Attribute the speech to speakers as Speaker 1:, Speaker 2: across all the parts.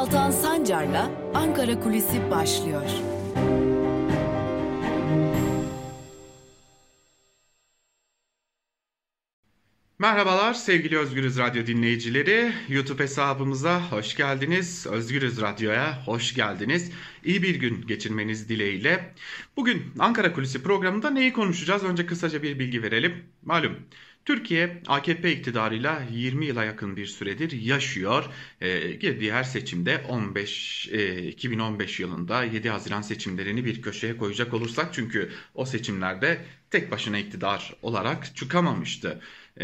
Speaker 1: Altan Sancar'la Ankara Kulisi başlıyor.
Speaker 2: Merhabalar sevgili Özgürüz Radyo dinleyicileri. YouTube hesabımıza hoş geldiniz. Özgürüz Radyo'ya hoş geldiniz. İyi bir gün geçirmeniz dileğiyle. Bugün Ankara Kulisi programında neyi konuşacağız? Önce kısaca bir bilgi verelim. Malum Türkiye AKP iktidarıyla 20 yıla yakın bir süredir yaşıyor. Girdiği her seçimde 2015 yılında 7 Haziran seçimlerini bir köşeye koyacak olursak, çünkü o seçimlerde tek başına iktidar olarak çıkamamıştı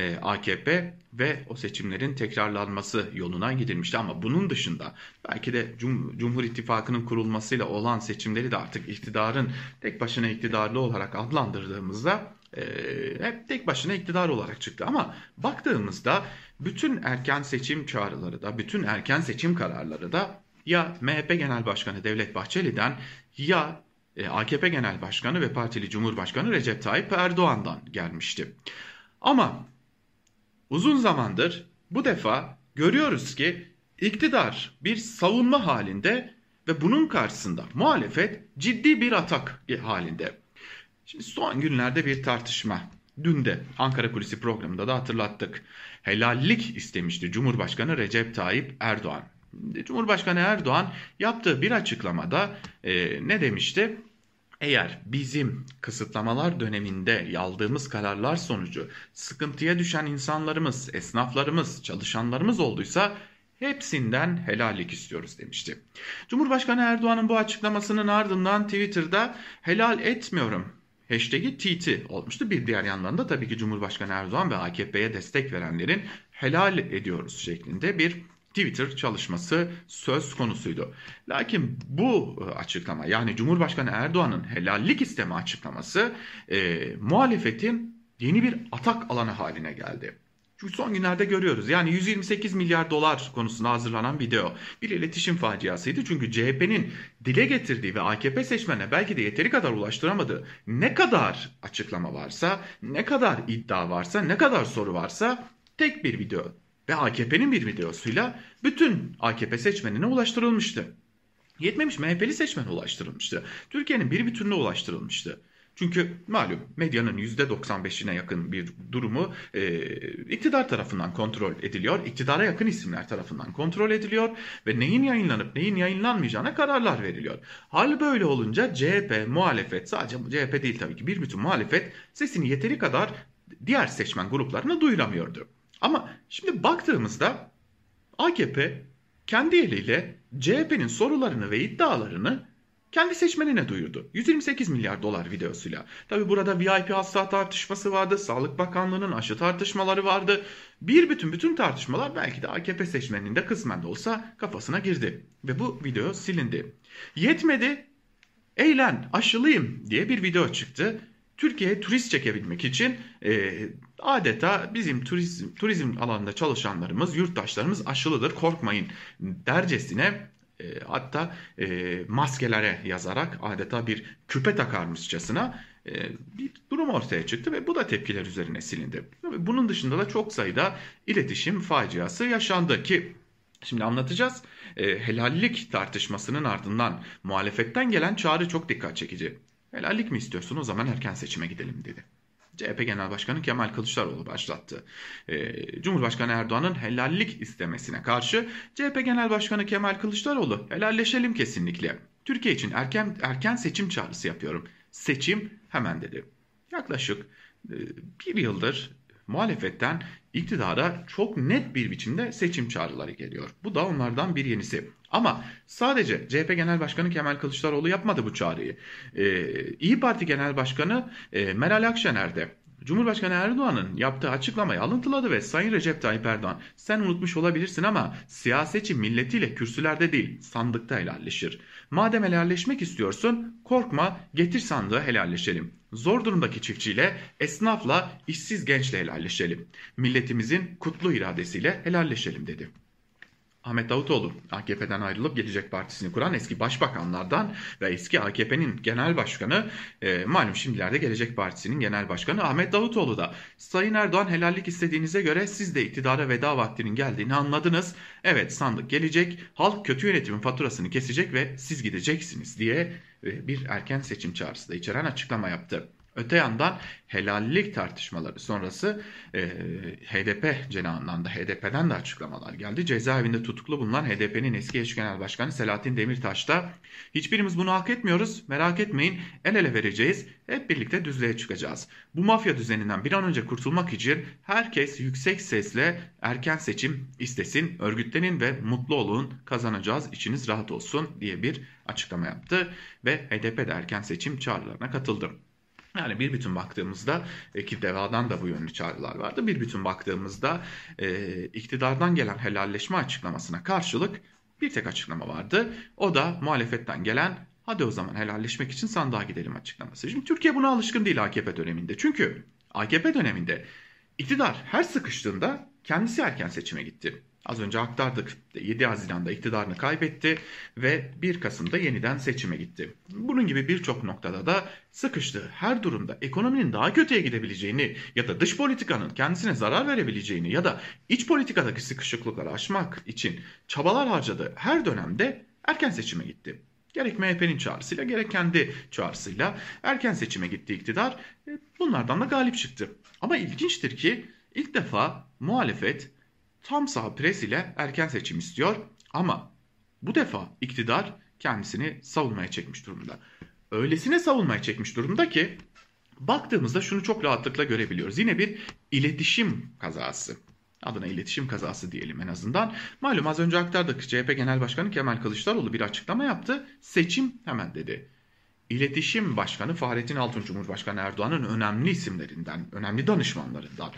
Speaker 2: AKP ve o seçimlerin tekrarlanması yoluna gidilmişti. Ama bunun dışında belki de Cumhur İttifakı'nın kurulmasıyla olan seçimleri de artık iktidarın tek başına iktidarlı olarak adlandırdığımızda hep tek başına iktidar olarak çıktı. Ama baktığımızda bütün erken seçim çağrıları da, bütün erken seçim kararları da ya MHP Genel Başkanı Devlet Bahçeli'den ya AKP Genel Başkanı ve Partili Cumhurbaşkanı Recep Tayyip Erdoğan'dan gelmişti. Ama uzun zamandır bu defa görüyoruz ki iktidar bir savunma halinde ve bunun karşısında muhalefet ciddi bir atak halinde. Şimdi son günlerde bir tartışma. Dün de Ankara Kulisi programında da hatırlattık. Helallik istemişti Cumhurbaşkanı Recep Tayyip Erdoğan. Cumhurbaşkanı Erdoğan yaptığı bir açıklamada ne demişti? Eğer bizim kısıtlamalar döneminde aldığımız kararlar sonucu sıkıntıya düşen insanlarımız, esnaflarımız, çalışanlarımız olduysa hepsinden helallik istiyoruz demişti. Cumhurbaşkanı Erdoğan'ın bu açıklamasının ardından Twitter'da helal etmiyorum hashtag'i TT olmuştu. Bir diğer yandan da tabii ki Cumhurbaşkanı Erdoğan ve AKP'ye destek verenlerin helal ediyoruz şeklinde bir Twitter çalışması söz konusuydu. Lakin bu açıklama, yani Cumhurbaşkanı Erdoğan'ın helallik isteme açıklaması muhalefetin yeni bir atak alanı haline geldi. Çünkü son günlerde görüyoruz, yani 128 milyar dolar konusuna hazırlanan video bir iletişim faciasıydı. Çünkü CHP'nin dile getirdiği ve AKP seçmenine belki de yeteri kadar ulaştıramadığı ne kadar açıklama varsa, ne kadar iddia varsa, ne kadar soru varsa tek bir video ve AKP'nin bir videosuyla bütün AKP seçmenine ulaştırılmıştı. Yetmemiş, MHP'li seçmene ulaştırılmıştı. Türkiye'nin bir bütününe ulaştırılmıştı. Çünkü malum medyanın %95'ine yakın bir durumu iktidar tarafından kontrol ediliyor. İktidara yakın isimler tarafından kontrol ediliyor ve neyin yayınlanıp neyin yayınlanmayacağına kararlar veriliyor. Hal böyle olunca CHP, muhalefet, sadece CHP değil tabii ki, bir bütün muhalefet sesini yeteri kadar diğer seçmen gruplarına duyuramıyordu. Ama şimdi baktığımızda AKP kendi eliyle CHP'nin sorularını ve iddialarını kendi seçmenine duyurdu. 128 milyar dolar videosuyla. Tabi burada VIP hasta tartışması vardı. Sağlık Bakanlığı'nın aşı tartışmaları vardı. Bütün tartışmalar belki de AKP seçmeninin de kısmen de olsa kafasına girdi. Ve bu video silindi. Yetmedi. Eğlen, aşılıyım diye bir video çıktı. Türkiye'ye turist çekebilmek için adeta bizim turizm alanında çalışanlarımız, yurttaşlarımız aşılıdır, korkmayın dercesine, hatta maskelere yazarak adeta bir küpe takarmışçasına bir durum ortaya çıktı ve bu da tepkiler üzerine silindi. Bunun dışında da çok sayıda iletişim faciası yaşandı ki şimdi anlatacağız. Helallik tartışmasının ardından muhalefetten gelen çağrı çok dikkat çekici. Helallik mi istiyorsun, o zaman erken seçime gidelim dedi. CHP Genel Başkanı Kemal Kılıçdaroğlu başlattı. Cumhurbaşkanı Erdoğan'ın helallik istemesine karşı CHP Genel Başkanı Kemal Kılıçdaroğlu helalleşelim kesinlikle. Türkiye için erken seçim çağrısı yapıyorum. Seçim hemen dedi. Yaklaşık bir yıldır muhalefetten iktidara çok net bir biçimde seçim çağrıları geliyor. Bu da onlardan bir yenisi. Ama sadece CHP Genel Başkanı Kemal Kılıçdaroğlu yapmadı bu çağrıyı. İYİ Parti Genel Başkanı Meral Akşener de Cumhurbaşkanı Erdoğan'ın yaptığı açıklamayı alıntıladı ve Sayın Recep Tayyip Erdoğan, sen unutmuş olabilirsin ama siyasetçi milletiyle kürsülerde değil sandıkta helalleşir. Madem helalleşmek istiyorsun, korkma, getir sandığı helalleşelim. Zor durumdaki çiftçiyle, esnafla, işsiz gençle helalleşelim. Milletimizin kutlu iradesiyle helalleşelim dedi. Ahmet Davutoğlu, AKP'den ayrılıp Gelecek Partisi'ni kuran eski başbakanlardan ve eski AKP'nin genel başkanı, malum şimdilerde Gelecek Partisi'nin genel başkanı Ahmet Davutoğlu da Sayın Erdoğan helallik istediğinize göre siz de iktidara veda vaktinin geldiğini anladınız. Evet, sandık gelecek, halk kötü yönetimin faturasını kesecek ve siz gideceksiniz diye bir erken seçim çağrısı da içeren açıklama yaptı. Öte yandan helallik tartışmaları sonrası HDP cenahından da HDP'den de açıklamalar geldi. Cezaevinde tutuklu bulunan HDP'nin eski eş genel başkanı Selahattin Demirtaş da hiçbirimiz bunu hak etmiyoruz, merak etmeyin, el ele vereceğiz, hep birlikte düzlüğe çıkacağız. Bu mafya düzeninden bir an önce kurtulmak için herkes yüksek sesle erken seçim istesin, örgütlenin ve mutlu olun, kazanacağız, içiniz rahat olsun diye bir açıklama yaptı ve HDP de erken seçim çağrılarına katıldı. Yani bir bütün baktığımızda ki DEVA'dan da bu yönlü çağrılar vardı. Bir bütün baktığımızda iktidardan gelen helalleşme açıklamasına karşılık bir tek açıklama vardı. O da muhalefetten gelen hadi o zaman helalleşmek için sandığa gidelim açıklaması. Şimdi Türkiye buna alışkın değil AKP döneminde. Çünkü AKP döneminde iktidar her sıkıştığında kendisi erken seçime gitti. Az önce aktardık. 7 Haziran'da iktidarını kaybetti ve 1 Kasım'da yeniden seçime gitti. Bunun gibi birçok noktada da sıkıştığı her durumda ekonominin daha kötüye gidebileceğini ya da dış politikanın kendisine zarar verebileceğini ya da iç politikadaki sıkışıklıkları aşmak için çabalar harcadığı her dönemde erken seçime gitti. Gerek MHP'nin çağrısıyla gerek kendi çağrısıyla erken seçime gitti iktidar. Bunlardan da galip çıktı. Ama ilginçtir ki ilk defa muhalefet tam sağ pres ile erken seçim istiyor ama bu defa iktidar kendisini savunmaya çekmiş durumda. Öylesine savunmaya çekmiş durumda ki baktığımızda şunu çok rahatlıkla görebiliyoruz. Yine bir iletişim kazası. Adına iletişim kazası diyelim en azından. Malum az önce aktardık. CHP Genel Başkanı Kemal Kılıçdaroğlu bir açıklama yaptı. Seçim hemen dedi. İletişim Başkanı Fahrettin Altun, Cumhurbaşkanı Erdoğan'ın önemli isimlerinden, önemli danışmanlarından,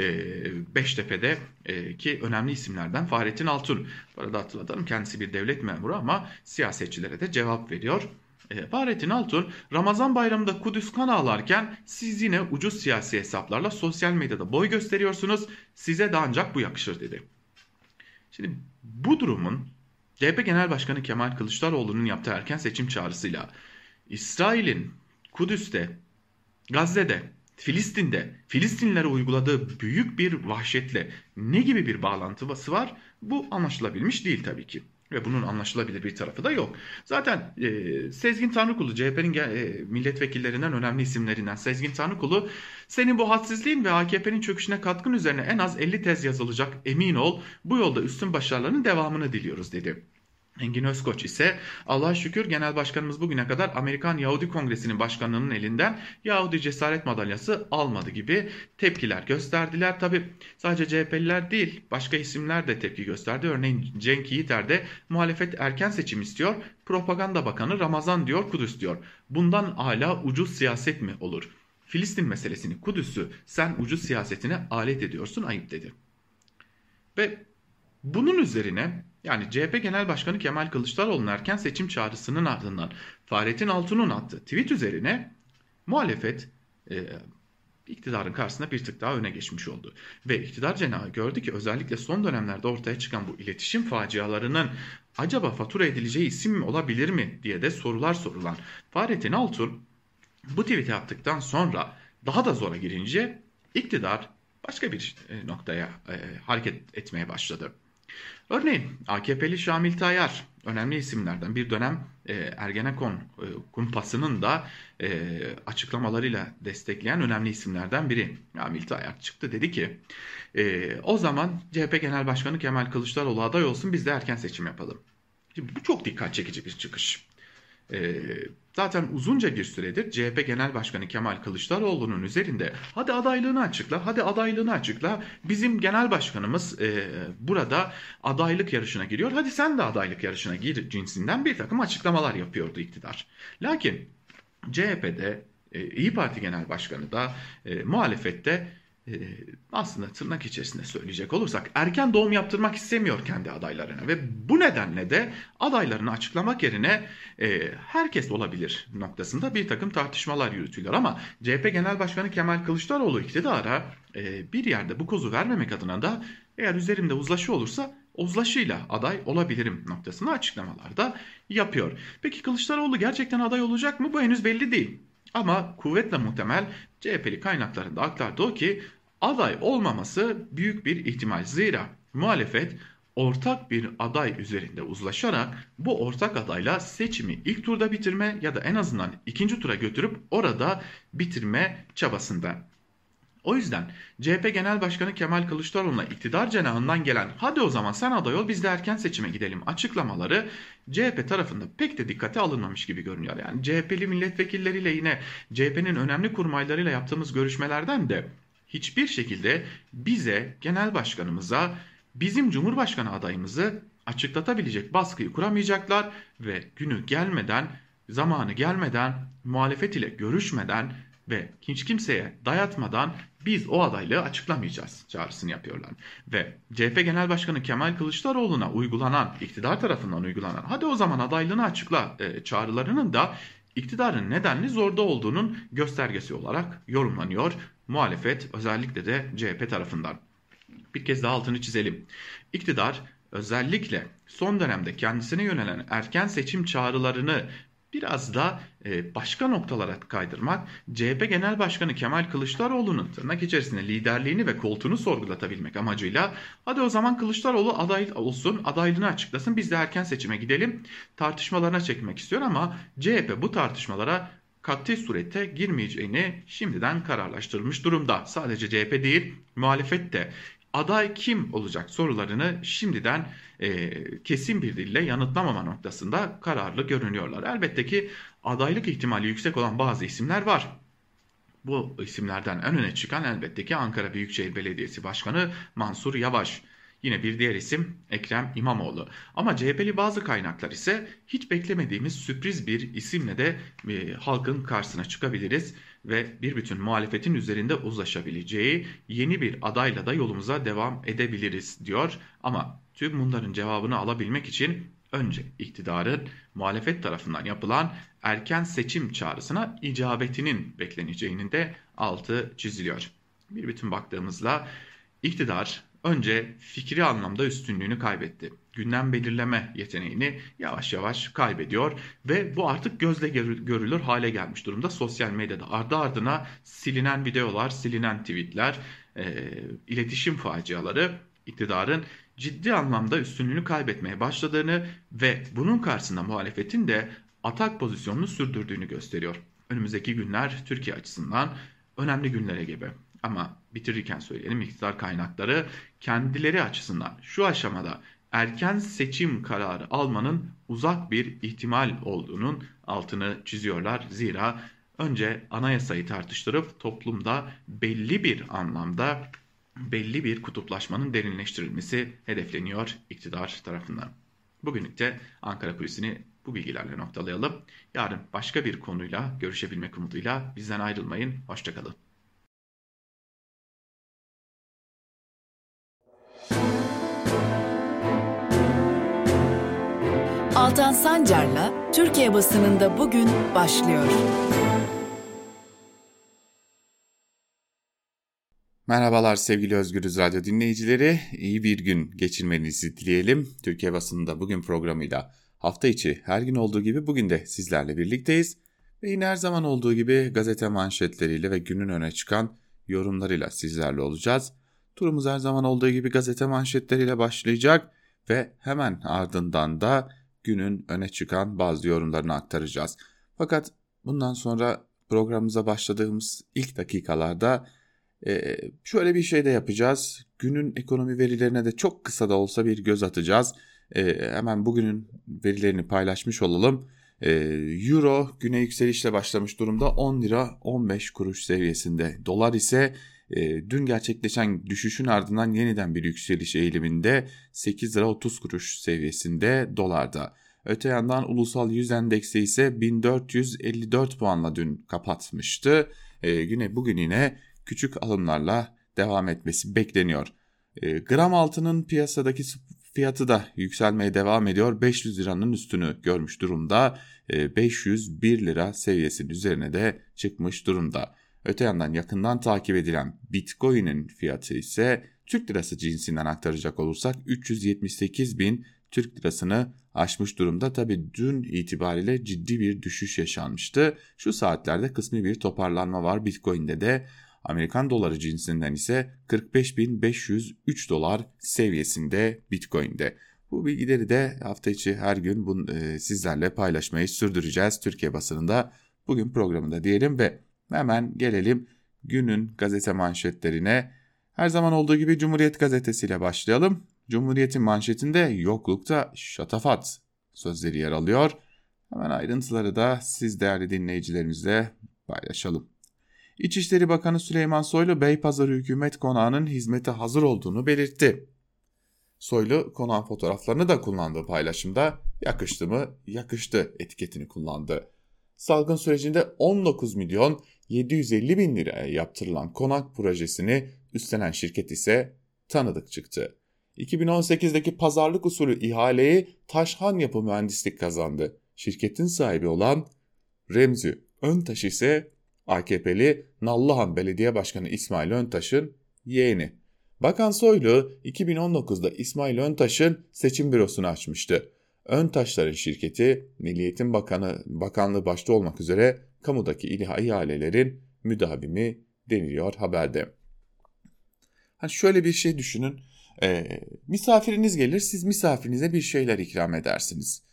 Speaker 2: Beştepe'deki önemli isimlerden Fahrettin Altun. Bu arada hatırlatalım, kendisi bir devlet memuru ama siyasetçilere de cevap veriyor. Fahrettin Altun, Ramazan bayramında Kudüs kan ağlarken siz yine ucuz siyasi hesaplarla sosyal medyada boy gösteriyorsunuz, size de ancak bu yakışır dedi. Şimdi bu durumun CHP Genel Başkanı Kemal Kılıçdaroğlu'nun yaptığı erken seçim çağrısıyla İsrail'in Kudüs'te, Gazze'de, Filistin'de Filistinlilere uyguladığı büyük bir vahşetle ne gibi bir bağlantısı var? Bu anlaşılabilmiş değil tabii ki. Ve bunun anlaşılabilir bir tarafı da yok. Zaten Sezgin Tanrıkulu, CHP'nin milletvekillerinden önemli isimlerinden Sezgin Tanrıkulu, senin bu hadsizliğin ve AKP'nin çöküşüne katkın üzerine en az 50 tez yazılacak, emin ol, bu yolda üstün başarılarının devamını diliyoruz dedi. Engin Özkoç ise Allah'a şükür Genel Başkanımız bugüne kadar Amerikan Yahudi Kongresi'nin başkanlığının elinden Yahudi Cesaret Madalyası almadı gibi tepkiler gösterdiler. Tabi sadece CHP'liler değil, başka isimler de tepki gösterdi. Örneğin Cenk Yiğiter de muhalefet erken seçim istiyor. Propaganda Bakanı Ramazan diyor, Kudüs diyor. Bundan hala ucuz siyaset mi olur? Filistin meselesini, Kudüs'ü sen ucuz siyasetine alet ediyorsun, ayıp dedi. Ve bunun üzerine yani CHP Genel Başkanı Kemal Kılıçdaroğlu'nun erken seçim çağrısının ardından Fahrettin Altun'un attığı tweet üzerine muhalefet iktidarın karşısında bir tık daha öne geçmiş oldu. Ve iktidar cenahı gördü ki özellikle son dönemlerde ortaya çıkan bu iletişim facialarının acaba fatura edileceği isim mi olabilir mi diye de sorular sorulan Fahrettin Altun bu tweet'i attıktan sonra daha da zora girince iktidar başka bir noktaya hareket etmeye başladı. Örneğin AKP'li Şamil Tayyar önemli isimlerden, bir dönem Ergenekon kumpasının da açıklamalarıyla destekleyen önemli isimlerden biri. Şamil Tayyar çıktı, dedi ki o zaman CHP Genel Başkanı Kemal Kılıçdaroğlu aday olsun, biz de erken seçim yapalım. Şimdi bu çok dikkat çekici bir çıkış. Zaten uzunca bir süredir CHP Genel Başkanı Kemal Kılıçdaroğlu'nun üzerinde hadi adaylığını açıkla, hadi adaylığını açıkla. Bizim genel başkanımız burada adaylık yarışına giriyor. Hadi sen de adaylık yarışına gir cinsinden bir takım açıklamalar yapıyordu iktidar. Lakin CHP'de, İYİ Parti Genel Başkanı da muhalefette aslında tırnak içerisinde söyleyecek olursak erken doğum yaptırmak istemiyor kendi adaylarına ve bu nedenle de adaylarını açıklamak yerine herkes olabilir noktasında bir takım tartışmalar yürütüyorlar. Ama CHP Genel Başkanı Kemal Kılıçdaroğlu iktidara bir yerde bu kozu vermemek adına da eğer üzerimde uzlaşı olursa uzlaşıyla aday olabilirim noktasında açıklamalarda yapıyor. Peki Kılıçdaroğlu gerçekten aday olacak mı? Bu henüz belli değil. Ama kuvvetle muhtemel CHP'li kaynaklarında aktardı o ki aday olmaması büyük bir ihtimal. Zira muhalefet ortak bir aday üzerinde uzlaşarak bu ortak adayla seçimi ilk turda bitirme ya da en azından ikinci tura götürüp orada bitirme çabasında. O yüzden CHP Genel Başkanı Kemal Kılıçdaroğlu'na iktidar cenahından gelen hadi o zaman sen aday ol biz de erken seçime gidelim açıklamaları CHP tarafında pek de dikkate alınmamış gibi görünüyor. Yani CHP'li milletvekilleriyle yine CHP'nin önemli kurmaylarıyla yaptığımız görüşmelerden de hiçbir şekilde bize, genel başkanımıza, bizim Cumhurbaşkanı adayımızı açıklatabilecek baskıyı kuramayacaklar ve günü gelmeden, zamanı gelmeden, muhalefet ile görüşmeden ve hiç kimseye dayatmadan biz o adaylığı açıklamayacağız çağrısını yapıyorlar. Ve CHP Genel Başkanı Kemal Kılıçdaroğlu'na uygulanan, iktidar tarafından uygulanan hadi o zaman adaylığını açıkla çağrılarının da iktidarın nedenli zorda olduğunun göstergesi olarak yorumlanıyor muhalefet, özellikle de CHP tarafından. Bir kez daha altını çizelim. İktidar özellikle son dönemde kendisine yönelen erken seçim çağrılarını biraz da başka noktalara kaydırmak, CHP Genel Başkanı Kemal Kılıçdaroğlu'nun tırnak içerisinde liderliğini ve koltuğunu sorgulatabilmek amacıyla hadi o zaman Kılıçdaroğlu aday olsun, adaylığını açıklasın, biz de erken seçime gidelim tartışmalarına çekmek istiyor ama CHP bu tartışmalara kat'i surette girmeyeceğini şimdiden kararlaştırmış durumda. Sadece CHP değil, muhalefet de aday kim olacak sorularını şimdiden kesin bir dille yanıtlamama noktasında kararlı görünüyorlar. Elbette ki adaylık ihtimali yüksek olan bazı isimler var. Bu isimlerden en öne çıkan elbette ki Ankara Büyükşehir Belediyesi Başkanı Mansur Yavaş. Yine bir diğer isim Ekrem İmamoğlu. Ama CHP'li bazı kaynaklar ise hiç beklemediğimiz sürpriz bir isimle de halkın karşısına çıkabiliriz ve bir bütün muhalefetin üzerinde uzlaşabileceği yeni bir adayla da yolumuza devam edebiliriz diyor. Ama tüm bunların cevabını alabilmek için önce iktidarın muhalefet tarafından yapılan erken seçim çağrısına icabetinin bekleneceğinin de altı çiziliyor. Bir bütün baktığımızda iktidar önce fikri anlamda üstünlüğünü kaybetti. Gündem belirleme yeteneğini yavaş yavaş kaybediyor ve bu artık gözle görülür hale gelmiş durumda. Sosyal medyada ardı ardına silinen videolar, silinen tweetler, iletişim faciaları iktidarın ciddi anlamda üstünlüğünü kaybetmeye başladığını ve bunun karşısında muhalefetin de atak pozisyonunu sürdürdüğünü gösteriyor. Önümüzdeki günler Türkiye açısından önemli günlere gebe. Ama bitirirken söyleyelim, iktidar kaynakları kendileri açısından şu aşamada erken seçim kararı almanın uzak bir ihtimal olduğunun altını çiziyorlar. Zira önce anayasayı tartıştırıp toplumda belli bir anlamda belli bir kutuplaşmanın derinleştirilmesi hedefleniyor iktidar tarafından. Bugünlük de Ankara Kulisi'ni bu bilgilerle noktalayalım. Yarın başka bir konuyla görüşebilmek umuduyla bizden ayrılmayın. Hoşçakalın.
Speaker 1: Altan Sancar'la Türkiye basınında bugün başlıyor.
Speaker 3: Merhabalar sevgili Özgürüz Radyo dinleyicileri. İyi bir gün geçirmenizi dileyelim. Türkiye basınında bugün programıyla hafta içi her gün olduğu gibi bugün de sizlerle birlikteyiz. Ve yine her zaman olduğu gibi gazete manşetleriyle ve günün öne çıkan yorumlarıyla sizlerle olacağız. Turumuz her zaman olduğu gibi gazete manşetleriyle başlayacak ve hemen ardından da günün öne çıkan bazı yorumlarını aktaracağız. Fakat bundan sonra programımıza başladığımız ilk dakikalarda şöyle bir şey de yapacağız. Günün ekonomi verilerine de çok kısa da olsa bir göz atacağız. Hemen bugünün verilerini paylaşmış olalım. Euro güne yükselişle başlamış durumda 10 lira 15 kuruş seviyesinde. Dolar ise dün gerçekleşen düşüşün ardından yeniden bir yükseliş eğiliminde 8 lira 30 kuruş seviyesinde dolarda. Öte yandan ulusal yüz endeksi ise 1454 puanla dün kapatmıştı. Bugün yine küçük alımlarla devam etmesi bekleniyor. Gram altının piyasadaki fiyatı da yükselmeye devam ediyor. 500 liranın üstünü görmüş durumda. 501 lira seviyesinin üzerine de çıkmış durumda. Öte yandan yakından takip edilen Bitcoin'in fiyatı ise Türk lirası cinsinden aktaracak olursak 378 bin Türk lirasını aşmış durumda. Tabi dün itibariyle ciddi bir düşüş yaşanmıştı. Şu saatlerde kısmi bir toparlanma var. Bitcoin'de de Amerikan doları cinsinden ise 45.503 dolar seviyesinde Bitcoin'de. Bu bilgileri de hafta içi her gün sizlerle paylaşmayı sürdüreceğiz Türkiye basınında bugün programında diyelim ve hemen gelelim günün gazete manşetlerine. Her zaman olduğu gibi Cumhuriyet gazetesiyle başlayalım. Cumhuriyet'in manşetinde yoklukta şatafat sözleri yer alıyor. Hemen ayrıntıları da siz değerli dinleyicilerimizle paylaşalım. İçişleri Bakanı Süleyman Soylu Beypazarı Hükümet Konağı'nın hizmete hazır olduğunu belirtti. Soylu konağın fotoğraflarını da kullandığı paylaşımda yakıştı mı yakıştı etiketini kullandı. Salgın sürecinde 19 milyon 750 bin liraya yaptırılan konak projesini üstlenen şirket ise tanıdık çıktı. 2018'deki pazarlık usulü ihaleyi Taşhan Yapı Mühendislik kazandı. Şirketin sahibi olan Remzi Öntaş ise AKP'li Nallıhan Belediye Başkanı İsmail Öntaş'ın yeğeni. Bakan Soylu 2019'da İsmail Öntaş'ın seçim bürosunu açmıştı. Öntaşların şirketi Milli Eğitim Bakanlığı başta olmak üzere kamudaki ihalelerin müdavimi deniliyor haberde. Şöyle bir şey düşünün. Misafiriniz gelir, siz misafirinize bir şeyler ikram edersiniz.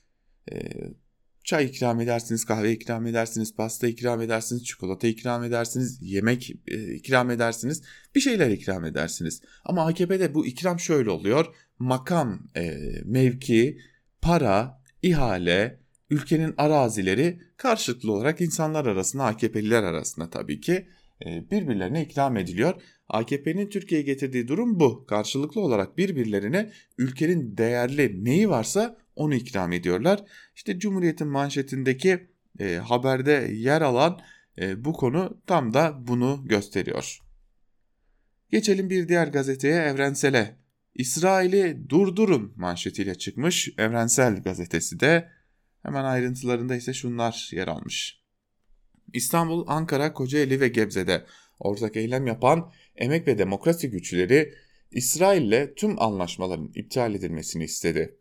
Speaker 3: Çay ikram edersiniz, kahve ikram edersiniz, pasta ikram edersiniz, çikolata ikram edersiniz, yemek ikram edersiniz, bir şeyler ikram edersiniz. Ama AKP'de bu ikram şöyle oluyor. Makam, mevki, para, ihale, ülkenin arazileri karşılıklı olarak insanlar arasında, AKP'liler arasında tabii ki birbirlerine ikram ediliyor. AKP'nin Türkiye'ye getirdiği durum bu. Karşılıklı olarak birbirlerine ülkenin değerli neyi varsa onu ikram ediyorlar. İşte Cumhuriyet'in manşetindeki haberde yer alan bu konu tam da bunu gösteriyor. Geçelim bir diğer gazeteye, Evrensel'e. İsrail'i durdurun manşetiyle çıkmış Evrensel gazetesi de. Hemen ayrıntılarında ise şunlar yer almış. İstanbul, Ankara, Kocaeli ve Gebze'de ortak eylem yapan emek ve demokrasi güçleri İsrail'le tüm anlaşmaların iptal edilmesini istedi.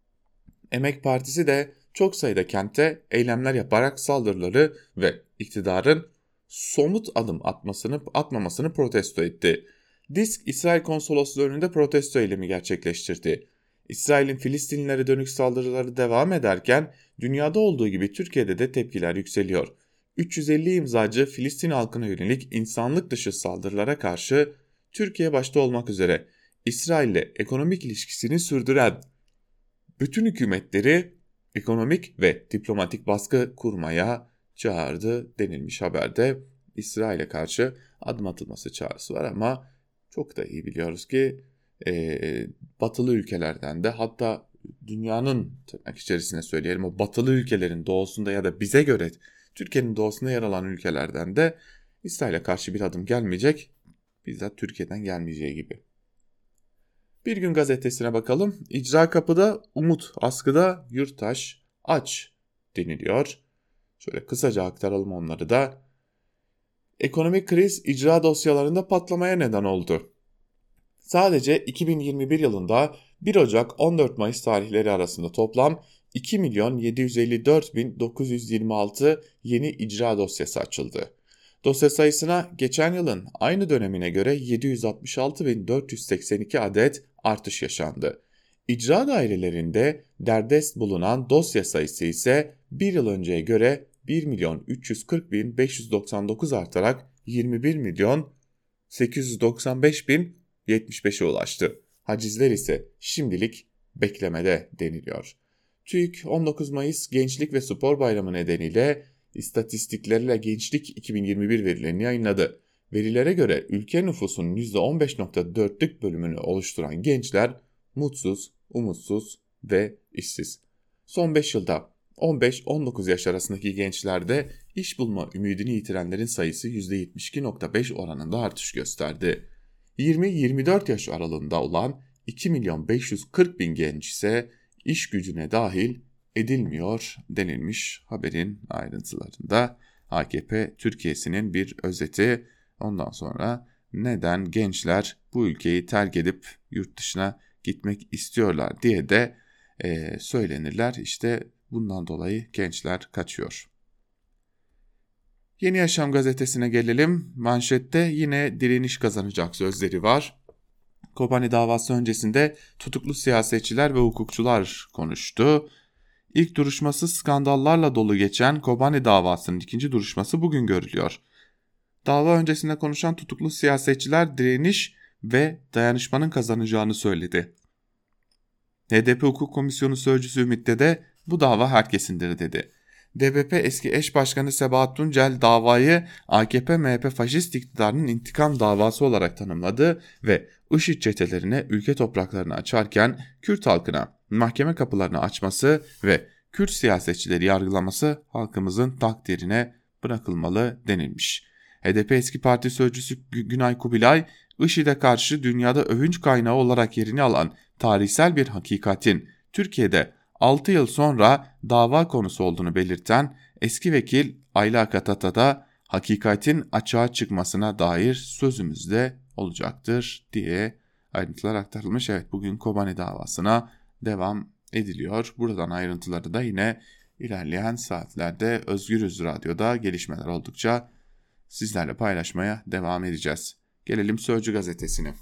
Speaker 3: Emek Partisi de çok sayıda kente eylemler yaparak saldırıları ve iktidarın somut adım atmamasını protesto etti. DİSK, İsrail Konsolosluğu önünde protesto eylemi gerçekleştirdi. İsrail'in Filistinlilere dönük saldırıları devam ederken dünyada olduğu gibi Türkiye'de de tepkiler yükseliyor. 350 imzacı Filistin halkına yönelik insanlık dışı saldırılara karşı Türkiye başta olmak üzere İsrail'le ekonomik ilişkisini sürdüren bütün hükümetleri ekonomik ve diplomatik baskı kurmaya çağırdı denilmiş haberde. İsrail'e karşı adım atılması çağrısı var ama çok da iyi biliyoruz ki batılı ülkelerden de, hatta dünyanın tırnak içerisine söyleyelim o batılı ülkelerin doğusunda ya da bize göre Türkiye'nin doğusunda yer alan ülkelerden de İsrail'e karşı bir adım gelmeyecek, bizzat Türkiye'den gelmeyeceği gibi. Bir Gün gazetesine bakalım. İcra kapıda, umut askıda, yurttaş aç deniliyor. Şöyle kısaca aktaralım onları da. Ekonomik kriz icra dosyalarında patlamaya neden oldu. Sadece 2021 yılında 1 Ocak 14 Mayıs tarihleri arasında toplam 2.754.926 yeni icra dosyası açıldı. Dosya sayısına geçen yılın aynı dönemine göre 766.482 adet artış yaşandı. İcra dairelerinde derdest bulunan dosya sayısı ise bir yıl önceye göre 1.340.599 artarak 21.895.075'e ulaştı. Hacizler ise şimdilik beklemede deniliyor. TÜİK 19 Mayıs Gençlik ve Spor Bayramı nedeniyle istatistiklerle Gençlik 2021 verilerini yayınladı. Verilere göre ülke nüfusunun %15.4'lük bölümünü oluşturan gençler mutsuz, umutsuz ve işsiz. Son 5 yılda 15-19 yaş arasındaki gençlerde iş bulma ümidini yitirenlerin sayısı %72.5 oranında artış gösterdi. 20-24 yaş aralığında olan 2.540.000 genç ise iş gücüne dahil edilmiyor denilmiş haberin ayrıntılarında. AKP Türkiye'sinin bir özeti. Ondan sonra neden gençler bu ülkeyi terk edip yurt dışına gitmek istiyorlar diye de söylenirler. İşte bundan dolayı gençler kaçıyor. Yeni Yaşam gazetesine gelelim. Manşette yine direniş kazanacak sözleri var. Kobani davası öncesinde tutuklu siyasetçiler ve hukukçular konuştu. İlk duruşması skandallarla dolu geçen Kobani davasının ikinci duruşması bugün görülüyor. Dava öncesinde konuşan tutuklu siyasetçiler direniş ve dayanışmanın kazanacağını söyledi. HDP Hukuk Komisyonu Sözcüsü Ümit de bu dava herkesindir dedi. DBP eski eş başkanı Sebahat Tuncel davayı AKP-MHP faşist iktidarının intikam davası olarak tanımladı ve IŞİD çetelerine ülke topraklarını açarken Kürt halkına mahkeme kapılarını açması ve Kürt siyasetçileri yargılaması halkımızın takdirine bırakılmalı denilmiş. HDP eski parti sözcüsü Günay Kubilay, IŞİD'e karşı dünyada övünç kaynağı olarak yerini alan tarihsel bir hakikatin Türkiye'de 6 yıl sonra dava konusu olduğunu belirten eski vekil Ayla Katata da hakikatin açığa çıkmasına dair sözümüzde olacaktır diye ayrıntılar aktarılmış. Evet, bugün Kobani davasına devam ediliyor. Buradan ayrıntıları da yine ilerleyen saatlerde Özgürüz Radyo'da gelişmeler oldukça sizlerle paylaşmaya devam edeceğiz. Gelelim Sözcü gazetesine.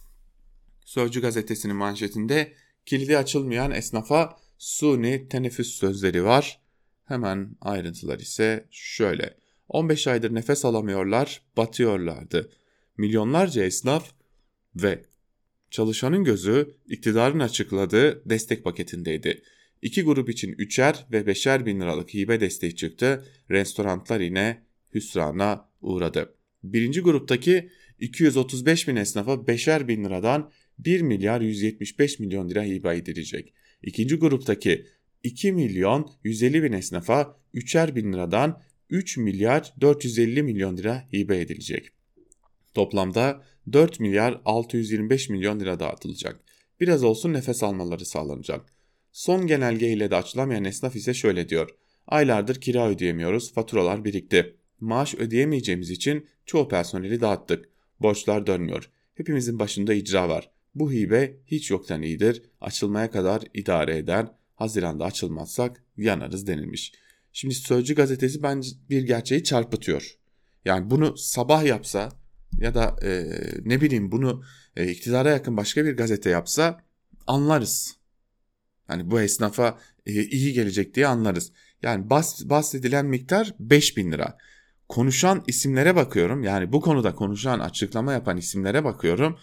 Speaker 3: Sözcü gazetesinin manşetinde kilidi açılmayan esnafa suni teneffüs sözleri var. Hemen ayrıntılar ise şöyle. 15 aydır nefes alamıyorlar, batıyorlardı. Milyonlarca esnaf ve çalışanın gözü iktidarın açıkladığı destek paketindeydi. İki grup için 3'er ve 5'er bin liralık hibe desteği çıktı. Restoranlar yine hüsrana uğradı. Birinci gruptaki 235 bin esnafa 5'er bin liradan 1 milyar 175 milyon lira hibe edilecek. İkinci gruptaki 2 milyon 150 bin esnafa 3'er bin liradan 3 milyar 450 milyon lira hibe edilecek. Toplamda 4 milyar 625 milyon lira dağıtılacak. Biraz olsun nefes almaları sağlanacak. Son genelge ile de açılamayan esnaf ise şöyle diyor. Aylardır kira ödeyemiyoruz, faturalar birikti. Maaş ödeyemeyeceğimiz için çoğu personeli dağıttık. Borçlar dönmüyor. Hepimizin başında icra var. Bu hibe hiç yoktan iyidir. Açılmaya kadar idare eder. Haziranda açılmazsak yanarız denilmiş. Şimdi Sözcü gazetesi bence bir gerçeği çarpıtıyor. Yani bunu Sabah yapsa ya da ne bileyim bunu iktidara yakın başka bir gazete yapsa anlarız. Hani bu esnafa iyi gelecek diye anlarız. Yani bahsedilen miktar 5.000 lira. Konuşan isimlere bakıyorum. Yani bu konuda konuşan, açıklama yapan isimlere bakıyorum.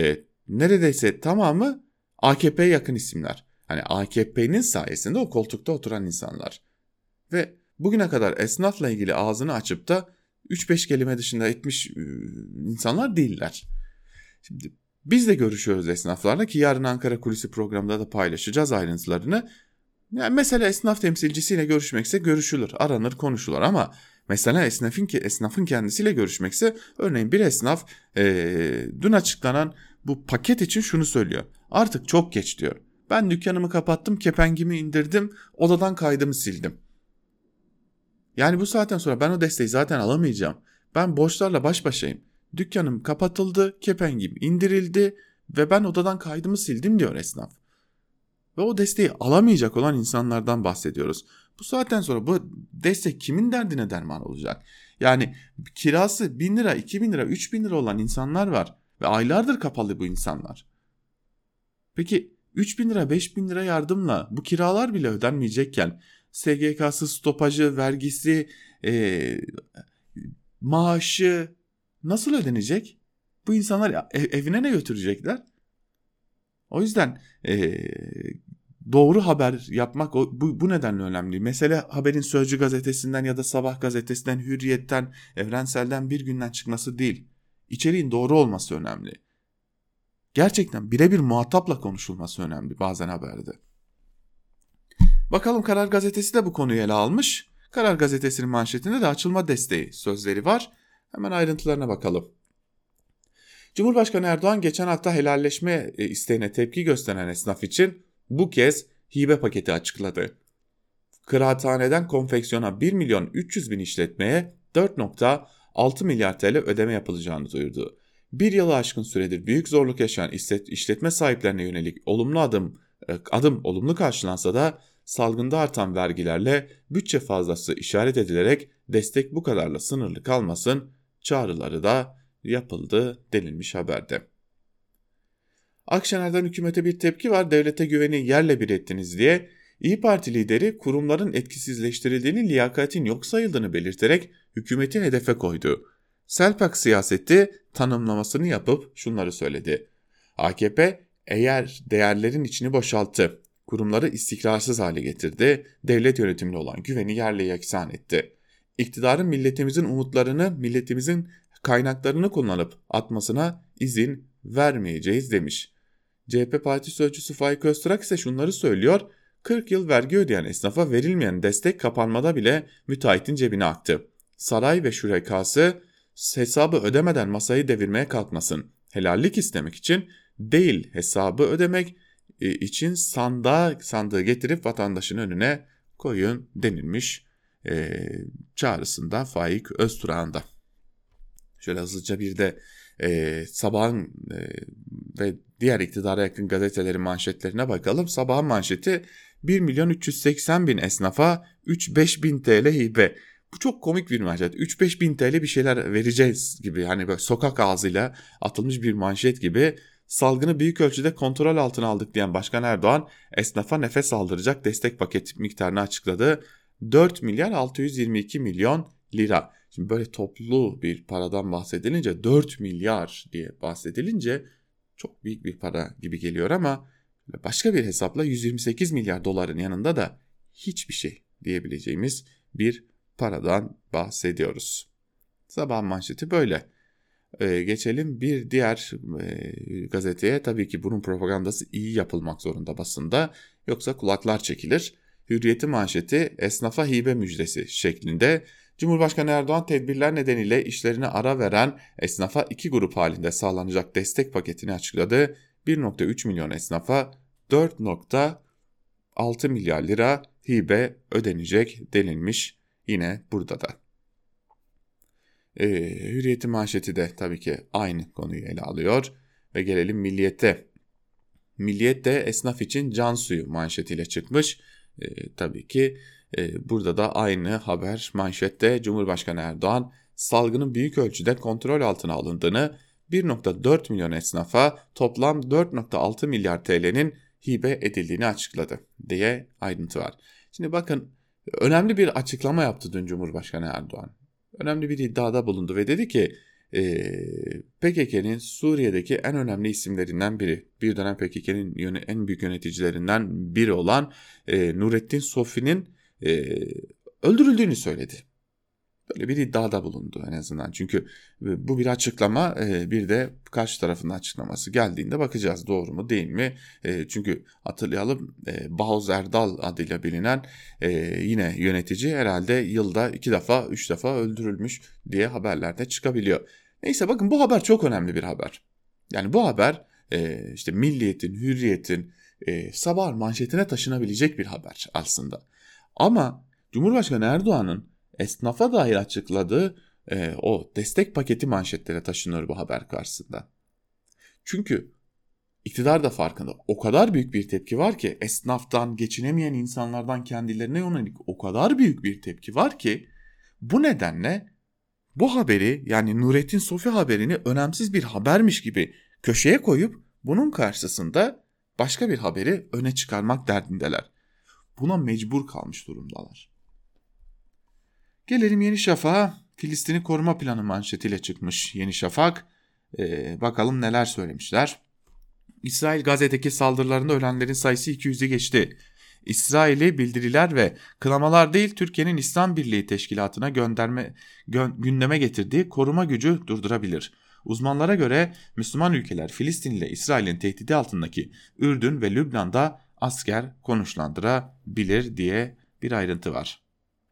Speaker 3: Neredeyse tamamı AKP'ye yakın isimler. Hani AKP'nin sayesinde o koltukta oturan insanlar. Ve bugüne kadar esnafla ilgili ağzını açıp da 3-5 kelime dışında etmiş insanlar değiller. Şimdi biz de görüşüyoruz esnaflarla ki yarın Ankara Kulisi programında da paylaşacağız ayrıntılarını. Yani mesela esnaf temsilcisiyle görüşmekse görüşülür, aranır, konuşulur ama mesela esnafın kendisiyle görüşmekse örneğin bir esnaf dün açıklanan bu paket için şunu söylüyor. Artık çok geç diyor. Ben dükkanımı kapattım, kepengimi indirdim, odadan kaydımı sildim. Yani bu saatten sonra ben o desteği zaten alamayacağım. Ben borçlarla baş başayım. Dükkanım kapatıldı, kepengim indirildi ve ben odadan kaydımı sildim diyor esnaf. Ve o desteği alamayacak olan insanlardan bahsediyoruz. Bu saatten sonra bu destek kimin derdine derman olacak? Yani kirası 1.000 lira, 2.000 lira, 3.000 lira olan insanlar var. Ve aylardır kapalı bu insanlar. Peki 3.000 lira, 5.000 lira yardımla bu kiralar bile ödenmeyecekken SGK'sı, stopajı, vergisi, maaşı nasıl ödenecek? Bu insanlar evine ne götürecekler? O yüzden doğru haber yapmak bu nedenle önemli. Mesele haberin Sözcü gazetesinden ya da Sabah gazetesinden, Hürriyet'ten, Evrensel'den bir günden çıkması değil. İçeriğin doğru olması önemli. Gerçekten birebir muhatapla konuşulması önemli bazen haberde. Bakalım Karar Gazetesi de bu konuyu ele almış. Karar Gazetesi'nin manşetinde de açılma desteği sözleri var. Hemen ayrıntılarına bakalım. Cumhurbaşkanı Erdoğan geçen hafta helalleşme isteğine tepki gösteren esnaf için bu kez hibe paketi açıkladı. Kıraathaneden konfeksiyona 1 milyon 300 bin işletmeye 4.6 milyar TL ödeme yapılacağını duyurdu. Bir yılı aşkın süredir büyük zorluk yaşayan işletme sahiplerine yönelik adım olumlu karşılansa da salgında artan vergilerle bütçe fazlası işaret edilerek destek bu kadarla sınırlı kalmasın çağrıları da yapıldı denilmiş haberde. Akşener'den hükümete bir tepki var. Devlete güveni yerle bir ettiniz diye İYİ Parti lideri kurumların etkisizleştirildiğini, liyakatin yok sayıldığını belirterek hükümeti hedefe koydu. Selpak siyaseti tanımlamasını yapıp şunları söyledi. AKP eğer değerlerin içini boşalttı, kurumları istikrarsız hale getirdi, devlet yönetimine olan güveni yerle yeksan etti. İktidarın milletimizin umutlarını, milletimizin kaynaklarını kullanıp atmasına izin vermeyeceğiz demiş. CHP Parti Sözcüsü Faik Öztürk ise şunları söylüyor. 40 yıl vergi ödeyen esnafa verilmeyen destek kapanmada bile müteahhitin cebine aktı. Saray ve şurekası hesabı ödemeden masayı devirmeye kalkmasın. Helallik istemek için değil, hesabı ödemek için sandığı getirip vatandaşın önüne koyun denilmiş çağrısında Faik Öztürk'ün da. Şöyle hızlıca bir de Sabah'ın ve diğer iktidara yakın gazetelerin manşetlerine bakalım. Sabah'ın manşeti 1.380.000 esnafa 3-5 bin TL hibe. Bu çok komik bir manşet. 3-5 bin TL bir şeyler vereceğiz gibi, hani böyle sokak ağzıyla atılmış bir manşet gibi. Salgını büyük ölçüde kontrol altına aldık diyen Başkan Erdoğan esnafa nefes aldıracak destek paket miktarını açıkladı. 4 milyar 622 milyon lira. Şimdi böyle toplu bir paradan bahsedilince 4 milyar diye bahsedilince çok büyük bir para gibi geliyor ama başka bir hesapla 128 milyar doların yanında da hiçbir şey diyebileceğimiz bir paradan bahsediyoruz. Sabah manşeti böyle. Geçelim bir diğer gazeteye. Tabii ki bunun propagandası iyi yapılmak zorunda basında, yoksa kulaklar çekilir. Hürriyet'in manşeti esnafa hibe müjdesi şeklinde. Cumhurbaşkanı Erdoğan tedbirler nedeniyle işlerine ara veren esnafa iki grup halinde sağlanacak destek paketini açıkladı. 1.3 milyon esnafa 4.6 milyar lira hibe ödenecek denilmiş yine burada da. Hürriyet'in manşeti de tabii ki aynı konuyu ele alıyor ve gelelim Milliyet'e. Milliyet de esnaf için can suyu manşetiyle çıkmış. Tabii ki burada da aynı haber manşette. Cumhurbaşkanı Erdoğan salgının büyük ölçüde kontrol altına alındığını, 1.4 milyon esnafa toplam 4.6 milyar TL'nin hibe edildiğini açıkladı diye ayrıntı var. Şimdi bakın, önemli bir açıklama yaptı dün Cumhurbaşkanı Erdoğan. Önemli bir iddiada bulundu ve dedi ki PKK'nin Suriye'deki en önemli isimlerinden biri, bir dönem PKK'nin en büyük yöneticilerinden biri olan Nurettin Sofi'nin öldürüldüğünü söyledi. Böyle bir iddiada bulundu en azından. Çünkü bu bir açıklama, bir de karşı tarafın açıklaması geldiğinde bakacağız doğru mu değil mi? Çünkü hatırlayalım, Bahuz Erdal adıyla bilinen yine yönetici herhalde yılda 2 defa 3 defa öldürülmüş diye haberlerde çıkabiliyor. Neyse, bakın bu haber çok önemli bir haber. Yani bu haber işte Milliyet'in, Hürriyet'in sabah manşetine taşınabilecek bir haber aslında. Ama Cumhurbaşkanı Erdoğan'ın esnafa dair açıkladığı o destek paketi manşetlere taşınıyor bu haber karşısında. Çünkü iktidar da farkında. O kadar büyük bir tepki var ki, esnaftan, geçinemeyen insanlardan kendilerine yönelik o kadar büyük bir tepki var ki, bu nedenle bu haberi, yani Nurettin Sofi haberini önemsiz bir habermiş gibi köşeye koyup bunun karşısında başka bir haberi öne çıkarmak derdindeler. Buna mecbur kalmış durumdalar. Gelelim Yeni Şafak'a. Filistin'i koruma planı manşetiyle çıkmış Yeni Şafak. Bakalım neler söylemişler. İsrail Gazze'deki saldırılarında ölenlerin sayısı 200'ü geçti. İsrail'i bildiriler ve kınamalar değil, Türkiye'nin İslam Birliği Teşkilatı'na gündeme getirdiği koruma gücü durdurabilir. Uzmanlara göre Müslüman ülkeler Filistin ile İsrail'in tehdidi altındaki Ürdün ve Lübnan'da asker konuşlandırabilir diye bir ayrıntı var.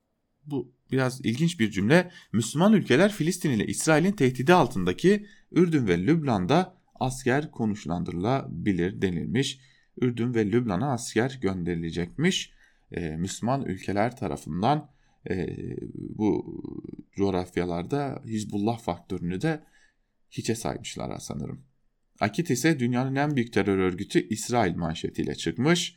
Speaker 3: Bu biraz ilginç bir cümle. Müslüman ülkeler Filistin ile İsrail'in tehdidi altındaki Ürdün ve Lübnan'da asker konuşlandırılabilir denilmiş. Ürdün ve Lübnan'a asker gönderilecekmiş. Müslüman ülkeler tarafından bu coğrafyalarda Hizbullah faktörünü de hiçe saymışlar sanırım. Akit ise dünyanın en büyük terör örgütü İsrail manşetiyle çıkmış.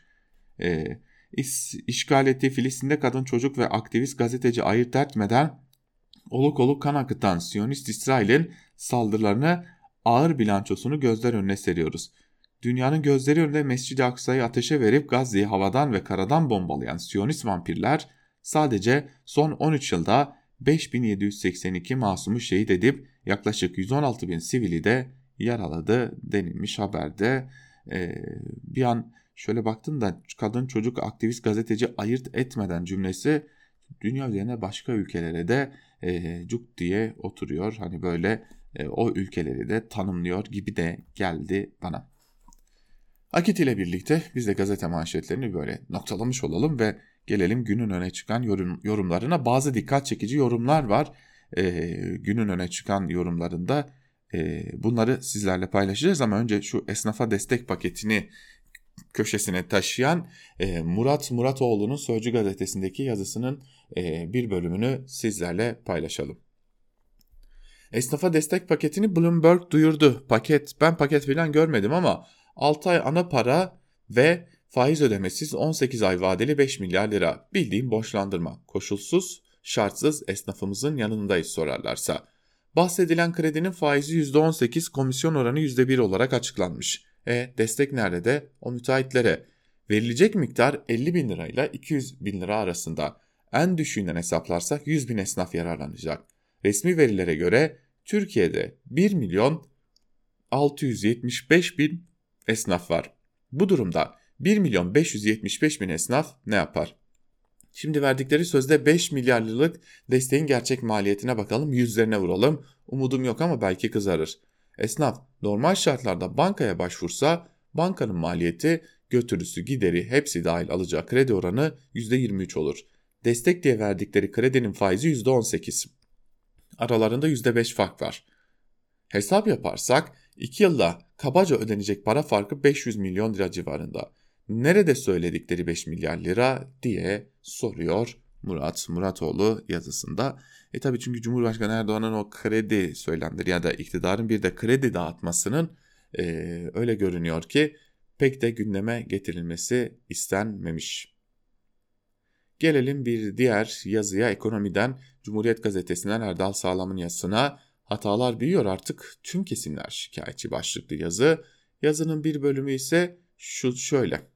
Speaker 3: İşgal ettiği Filistin'de kadın, çocuk ve aktivist gazeteci ayırt etmeden oluk oluk kan akıtan Siyonist İsrail'in saldırılarını, ağır bilançosunu gözler önüne seriyoruz. Dünyanın gözleri önünde Mescid-i Aksa'yı ateşe verip Gazze'yi havadan ve karadan bombalayan Siyonist vampirler sadece son 13 yılda 5782 masumu şehit edip yaklaşık 116.000 sivili de yaraladı denilmiş haberde. Bir an şöyle baktım da kadın, çocuk, aktivist, gazeteci ayırt etmeden cümlesi dünya üzerine başka ülkelere de cuk diye oturuyor. Hani böyle o ülkeleri de tanımlıyor gibi de geldi bana. Akit ile birlikte biz de gazete manşetlerini böyle noktalamış olalım ve gelelim günün öne çıkan yorumlarına. Bazı dikkat çekici yorumlar var. Günün öne çıkan yorumlarında bunları sizlerle paylaşacağız ama önce şu esnafa destek paketini köşesine taşıyan Murat Muratoğlu'nun Sözcü gazetesindeki yazısının bir bölümünü sizlerle paylaşalım. Esnafa destek paketini Bloomberg duyurdu. Ben paket falan görmedim ama 6 ay ana para ve faiz ödemesiz 18 ay vadeli 5 milyar lira. Bildiğim borçlandırma. Koşulsuz, şartsız esnafımızın yanındayız sorarlarsa. Bahsedilen kredinin faizi %18, komisyon oranı %1 olarak açıklanmış. Destek nerede de o müteahhitlere? Verilecek miktar 50 bin lirayla 200 bin lira arasında. En düşüğünden hesaplarsak 100 bin esnaf yararlanacak. Resmi verilere göre Türkiye'de 1 milyon 675 bin esnaf var. Bu durumda 1 milyon 575 bin esnaf ne yapar? Şimdi verdikleri sözde 5 milyar liralık desteğin gerçek maliyetine bakalım, yüzlerine vuralım. Umudum yok ama belki kızarır. Esnaf normal şartlarda bankaya başvursa bankanın maliyeti, götürüsü, gideri hepsi dahil alacağı kredi oranı %23 olur. Destek diye verdikleri kredinin faizi %18. Aralarında %5 fark var. Hesap yaparsak 2 yılda kabaca ödenecek para farkı 500 milyon lira civarında. Nerede söyledikleri 5 milyar lira diye soruyor Murat Muratoğlu yazısında. Tabii çünkü Cumhurbaşkanı Erdoğan'ın o kredi söylemleri ya da iktidarın bir de kredi dağıtmasının öyle görünüyor ki pek de gündeme getirilmesi istenmemiş. Gelelim bir diğer yazıya, ekonomiden Cumhuriyet Gazetesi'nden Erdal Sağlam'ın yazısına. Hatalar büyüyor artık, tüm kesimler şikayetçi başlıklı yazı. Yazının bir bölümü ise şöyle.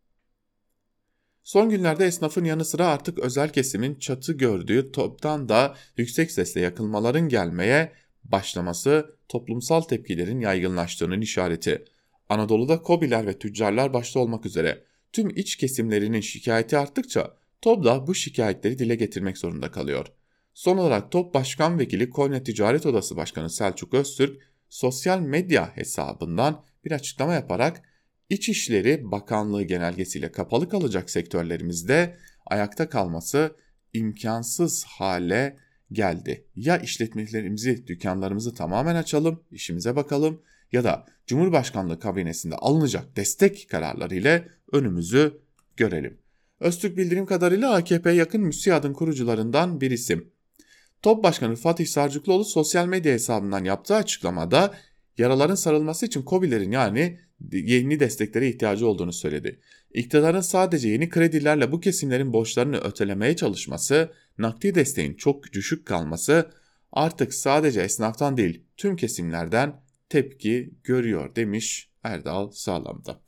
Speaker 3: Son günlerde esnafın yanı sıra artık özel kesimin çatı gördüğü toptan da yüksek sesle yakınmaların gelmeye başlaması toplumsal tepkilerin yaygınlaştığının işareti. Anadolu'da KOBİ'ler ve tüccarlar başta olmak üzere tüm iç kesimlerinin şikayeti arttıkça TOB da bu şikayetleri dile getirmek zorunda kalıyor. Son olarak TOB Başkan Vekili Konya Ticaret Odası Başkanı Selçuk Öztürk sosyal medya hesabından bir açıklama yaparak İçişleri Bakanlığı genelgesiyle kapalı kalacak sektörlerimizde ayakta kalması imkansız hale geldi. Ya işletmelerimizi, dükkanlarımızı tamamen açalım, işimize bakalım ya da Cumhurbaşkanlığı kabinesinde alınacak destek kararları ile önümüzü görelim. Öztürk bildiğim kadarıyla AKP'ye yakın MÜSİAD'ın kurucularından bir isim. TOB Başkanı Fatih Sarcıklıoğlu sosyal medya hesabından yaptığı açıklamada yaraların sarılması için KOBİ'lerin yani yeni desteklere ihtiyacı olduğunu söyledi. İktidarın sadece yeni kredilerle bu kesimlerin borçlarını ötelemeye çalışması, nakdi desteğin çok düşük kalması artık sadece esnaftan değil tüm kesimlerden tepki görüyor demiş Erdal Sağlam'da.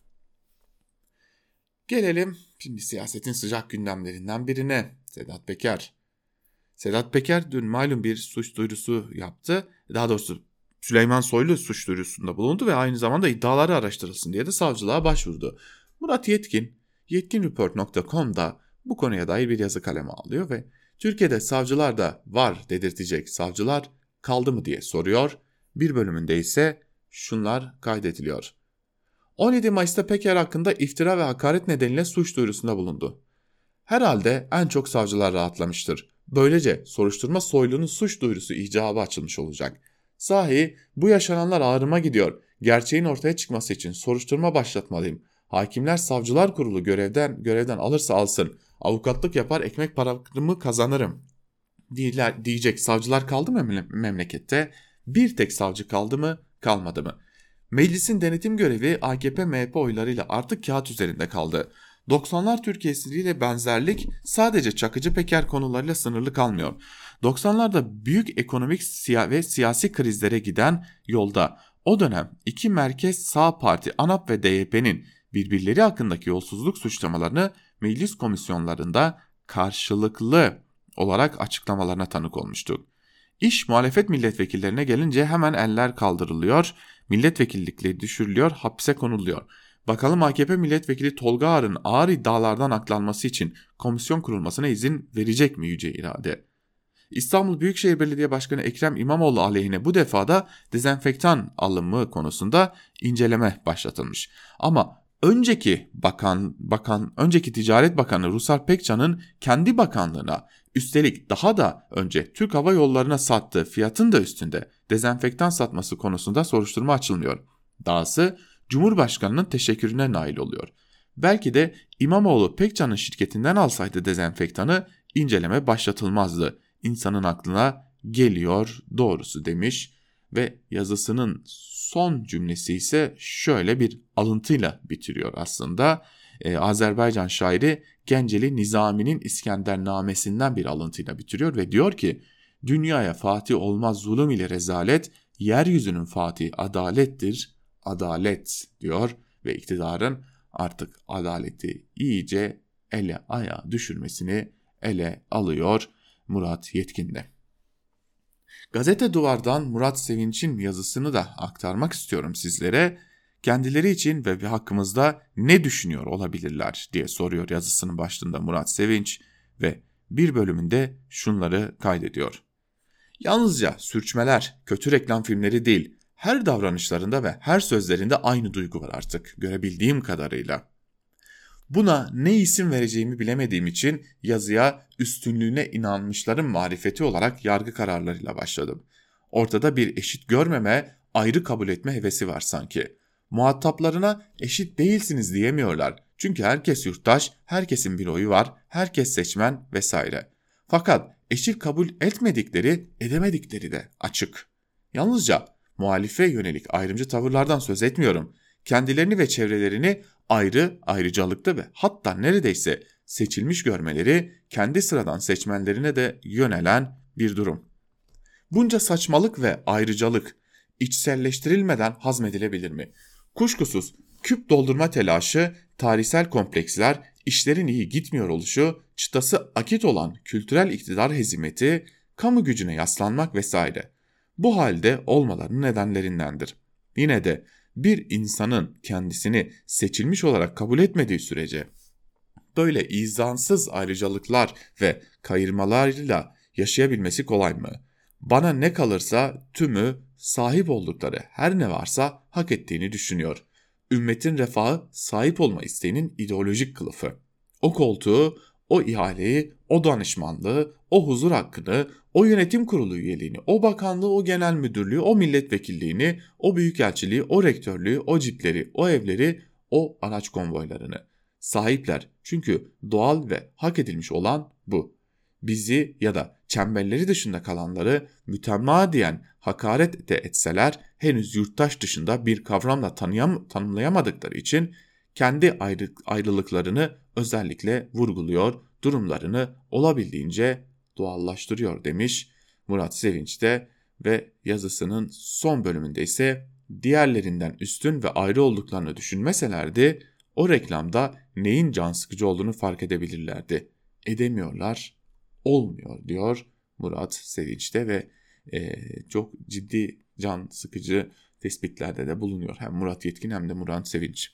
Speaker 3: Gelelim şimdi siyasetin sıcak gündemlerinden birine, Sedat Peker. Sedat Peker dün malum bir suç duyurusu yaptı. Daha doğrusu Süleyman Soylu suç duyurusunda bulundu ve aynı zamanda iddiaları araştırılsın diye de savcılığa başvurdu. Murat Yetkin, yetkinreport.com'da bu konuya dair bir yazı kaleme alıyor ve Türkiye'de savcılar da var dedirtecek savcılar kaldı mı diye soruyor. Bir bölümünde ise şunlar kaydediliyor. 17 Mayıs'ta Peker hakkında iftira ve hakaret nedeniyle suç duyurusunda bulundu. Herhalde en çok savcılar rahatlamıştır. Böylece soruşturma Soylu'nun suç duyurusu icabı açılmış olacak. Sahi bu yaşananlar ağrıma gidiyor. Gerçeğin ortaya çıkması için soruşturma başlatmalıyım. Hakimler Savcılar Kurulu görevden alırsa alsın. Avukatlık yapar ekmek paramı kazanırım diyecek savcılar kaldı mı memlekette? Bir tek savcı kaldı mı, kalmadı mı? Meclisin denetim görevi AKP-MHP oylarıyla artık kağıt üzerinde kaldı. 90'lar Türkiye'siyle benzerlik sadece Çakıcı Peker konularıyla sınırlı kalmıyor. 90'larda büyük ekonomik ve siyasi krizlere giden yolda o dönem iki merkez sağ parti ANAP ve DYP'nin birbirleri hakkındaki yolsuzluk suçlamalarını meclis komisyonlarında karşılıklı olarak açıklamalarına tanık olmuştuk. İş muhalefet milletvekillerine gelince hemen eller kaldırılıyor, milletvekillikleri düşürülüyor, hapse konuluyor. Bakalım AKP milletvekili Tolga Ağar'ın ağır iddialardan aklanması için komisyon kurulmasına izin verecek mi yüce irade? İstanbul Büyükşehir Belediye Başkanı Ekrem İmamoğlu aleyhine bu defa da dezenfektan alımı konusunda inceleme başlatılmış. Ama önceki Ticaret Bakanı Rusar Pekcan'ın kendi bakanlığına, üstelik daha da önce Türk Hava Yolları'na sattığı fiyatın da üstünde dezenfektan satması konusunda soruşturma açılmıyor. Dahası Cumhurbaşkanı'nın teşekkürüne nail oluyor. Belki de İmamoğlu Pekcan'ın şirketinden alsaydı dezenfektanı inceleme başlatılmazdı. İnsanın aklına geliyor doğrusu demiş ve yazısının son cümlesi ise şöyle bir alıntıyla bitiriyor aslında. Azerbaycan şairi Genceli Nizami'nin İskendernamesinden bir alıntıyla bitiriyor ve diyor ki dünyaya fatih olmaz zulüm ile rezalet, yeryüzünün fatihi adalettir, adalet diyor ve iktidarın artık adaleti iyice ele ayağa düşürmesini ele alıyor Murat Yetkin'de. Gazete Duvar'dan Murat Sevinç'in yazısını da aktarmak istiyorum sizlere. Kendileri için ve hakkımızda ne düşünüyor olabilirler diye soruyor yazısının başlığında Murat Sevinç ve bir bölümünde şunları kaydediyor. Yalnızca sürçmeler, kötü reklam filmleri değil, her davranışlarında ve her sözlerinde aynı duygu var artık görebildiğim kadarıyla. Buna ne isim vereceğimi bilemediğim için yazıya üstünlüğüne inanmışların marifeti olarak yargı kararlarıyla başladım. Ortada bir eşit görmeme, ayrı kabul etme hevesi var sanki. Muhataplarına eşit değilsiniz diyemiyorlar. Çünkü herkes yurttaş, herkesin bir oyu var, herkes seçmen vesaire. Fakat eşit kabul edemedikleri de açık. Yalnızca muhalife yönelik ayrımcı tavırlardan söz etmiyorum. Kendilerini ve çevrelerini ayrıcalıklı ve hatta neredeyse seçilmiş görmeleri kendi sıradan seçmenlerine de yönelen bir durum. Bunca saçmalık ve ayrıcalık içselleştirilmeden hazmedilebilir mi? Kuşkusuz küp doldurma telaşı, tarihsel kompleksler, işlerin iyi gitmiyor oluşu, çıtası akit olan kültürel iktidar hezimeti, kamu gücüne yaslanmak vesaire. Bu halde olmalarının nedenlerindendir. Yine de bir insanın kendisini seçilmiş olarak kabul etmediği sürece böyle izansız ayrıcalıklar ve kayırmalarıyla yaşayabilmesi kolay mı? Bana ne kalırsa tümü sahip oldukları her ne varsa hak ettiğini düşünüyor. Ümmetin refahı sahip olma isteğinin ideolojik kılıfı. O koltuğu, o ihaleyi, o danışmanlığı, o huzur hakkını, o yönetim kurulu üyeliğini, o bakanlığı, o genel müdürlüğü, o milletvekilliğini, o büyükelçiliği, o rektörlüğü, o cipleri, o evleri, o araç konvoylarını sahipler. Çünkü doğal ve hak edilmiş olan bu. Bizi ya da çemberleri dışında kalanları mütemadiyen hakaret de etseler henüz yurttaş dışında bir kavramla tanımlayamadıkları için kendi ayrılıklarını özellikle vurguluyor, durumlarını olabildiğince doğallaştırıyor demiş Murat Sevinç de ve yazısının son bölümünde ise diğerlerinden üstün ve ayrı olduklarını düşünmeselerdi o reklamda neyin can sıkıcı olduğunu fark edebilirlerdi. Edemiyorlar, olmuyor diyor Murat Sevinç de ve çok ciddi can sıkıcı tespitlerde de bulunuyor hem Murat Yetkin hem de Murat Sevinç.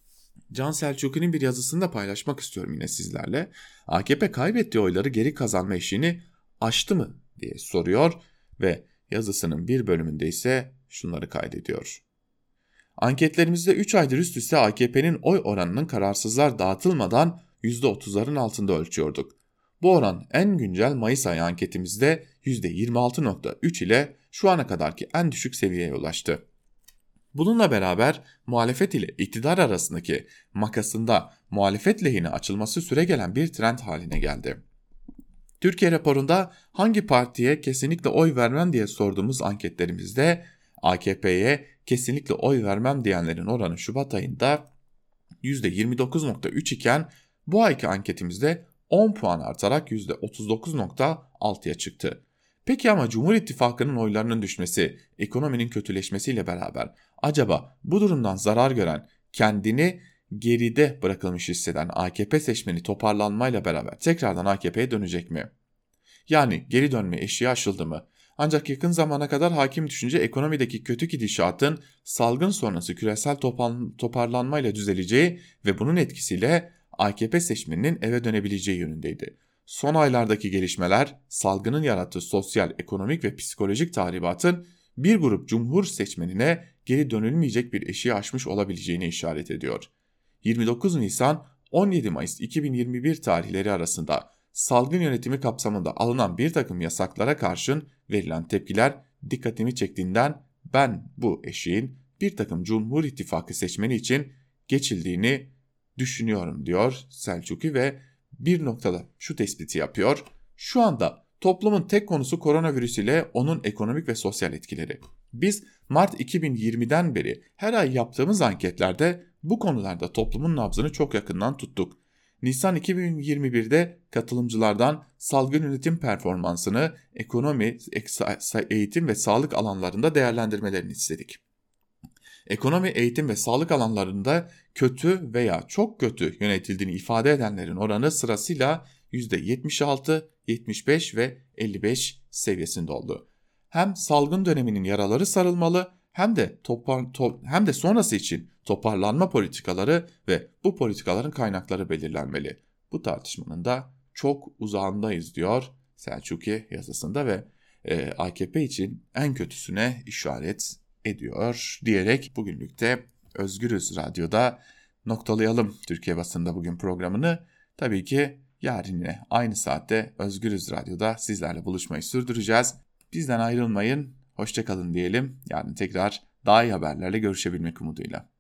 Speaker 3: Can Selçuklu'nun bir yazısını da paylaşmak istiyorum yine sizlerle. AKP kaybettiği oyları geri kazanma işini aştı mı diye soruyor ve yazısının bir bölümünde ise şunları kaydediyor. Anketlerimizde 3 aydır üst üste AKP'nin oy oranının kararsızlar dağıtılmadan %30'ların altında ölçüyorduk. Bu oran en güncel Mayıs ayı anketimizde %26.3 ile şu ana kadarki en düşük seviyeye ulaştı. Bununla beraber muhalefet ile iktidar arasındaki makasında muhalefet lehine açılması süregelen bir trend haline geldi. Türkiye raporunda hangi partiye kesinlikle oy vermem diye sorduğumuz anketlerimizde AKP'ye kesinlikle oy vermem diyenlerin oranı Şubat ayında %29.3 iken bu ayki anketimizde 10 puan artarak %39.6'ya çıktı. Peki ama Cumhur İttifakı'nın oylarının düşmesi, ekonominin kötüleşmesiyle beraber acaba bu durumdan zarar gören, kendini geride bırakılmış hisseden AKP seçmeni toparlanmayla beraber tekrardan AKP'ye dönecek mi? Yani geri dönme eşiği aşıldı mı? Ancak yakın zamana kadar hakim düşünce ekonomideki kötü gidişatın salgın sonrası küresel toparlanmayla düzeleceği ve bunun etkisiyle AKP seçmeninin eve dönebileceği yönündeydi. Son aylardaki gelişmeler salgının yarattığı sosyal, ekonomik ve psikolojik tahribatın bir grup cumhur seçmenine geri dönülmeyecek bir eşiği aşmış olabileceğini işaret ediyor. 29 Nisan 17 Mayıs 2021 tarihleri arasında salgın yönetimi kapsamında alınan bir takım yasaklara karşın verilen tepkiler dikkatimi çektiğinden ben bu eşiğin bir takım Cumhur İttifakı seçmeni için geçildiğini düşünüyorum diyor Selçuklu ve bir noktada şu tespiti yapıyor. Şu anda toplumun tek konusu koronavirüs ile onun ekonomik ve sosyal etkileri. Biz Mart 2020'den beri her ay yaptığımız anketlerde bu konularda toplumun nabzını çok yakından tuttuk. Nisan 2021'de katılımcılardan salgın yönetim performansını ekonomi, eğitim ve sağlık alanlarında değerlendirmelerini istedik. Ekonomi, eğitim ve sağlık alanlarında kötü veya çok kötü yönetildiğini ifade edenlerin oranı sırasıyla %76, 75 ve 55 seviyesinde oldu. Hem salgın döneminin yaraları sarılmalı hem de sonrası için toparlanma politikaları ve bu politikaların kaynakları belirlenmeli. Bu tartışmanın da çok uzağındayız diyor Selçuklu yazısında ve AKP için en kötüsüne işaret ediyor diyerek bugünlük de Özgürüz Radyo'da noktalayalım Türkiye Basınında Bugün programını. Tabii ki yarın yine aynı saatte Özgürüz Radyo'da sizlerle buluşmayı sürdüreceğiz. Bizden ayrılmayın, hoşça kalın diyelim. Yarın tekrar daha iyi haberlerle görüşebilmek umuduyla.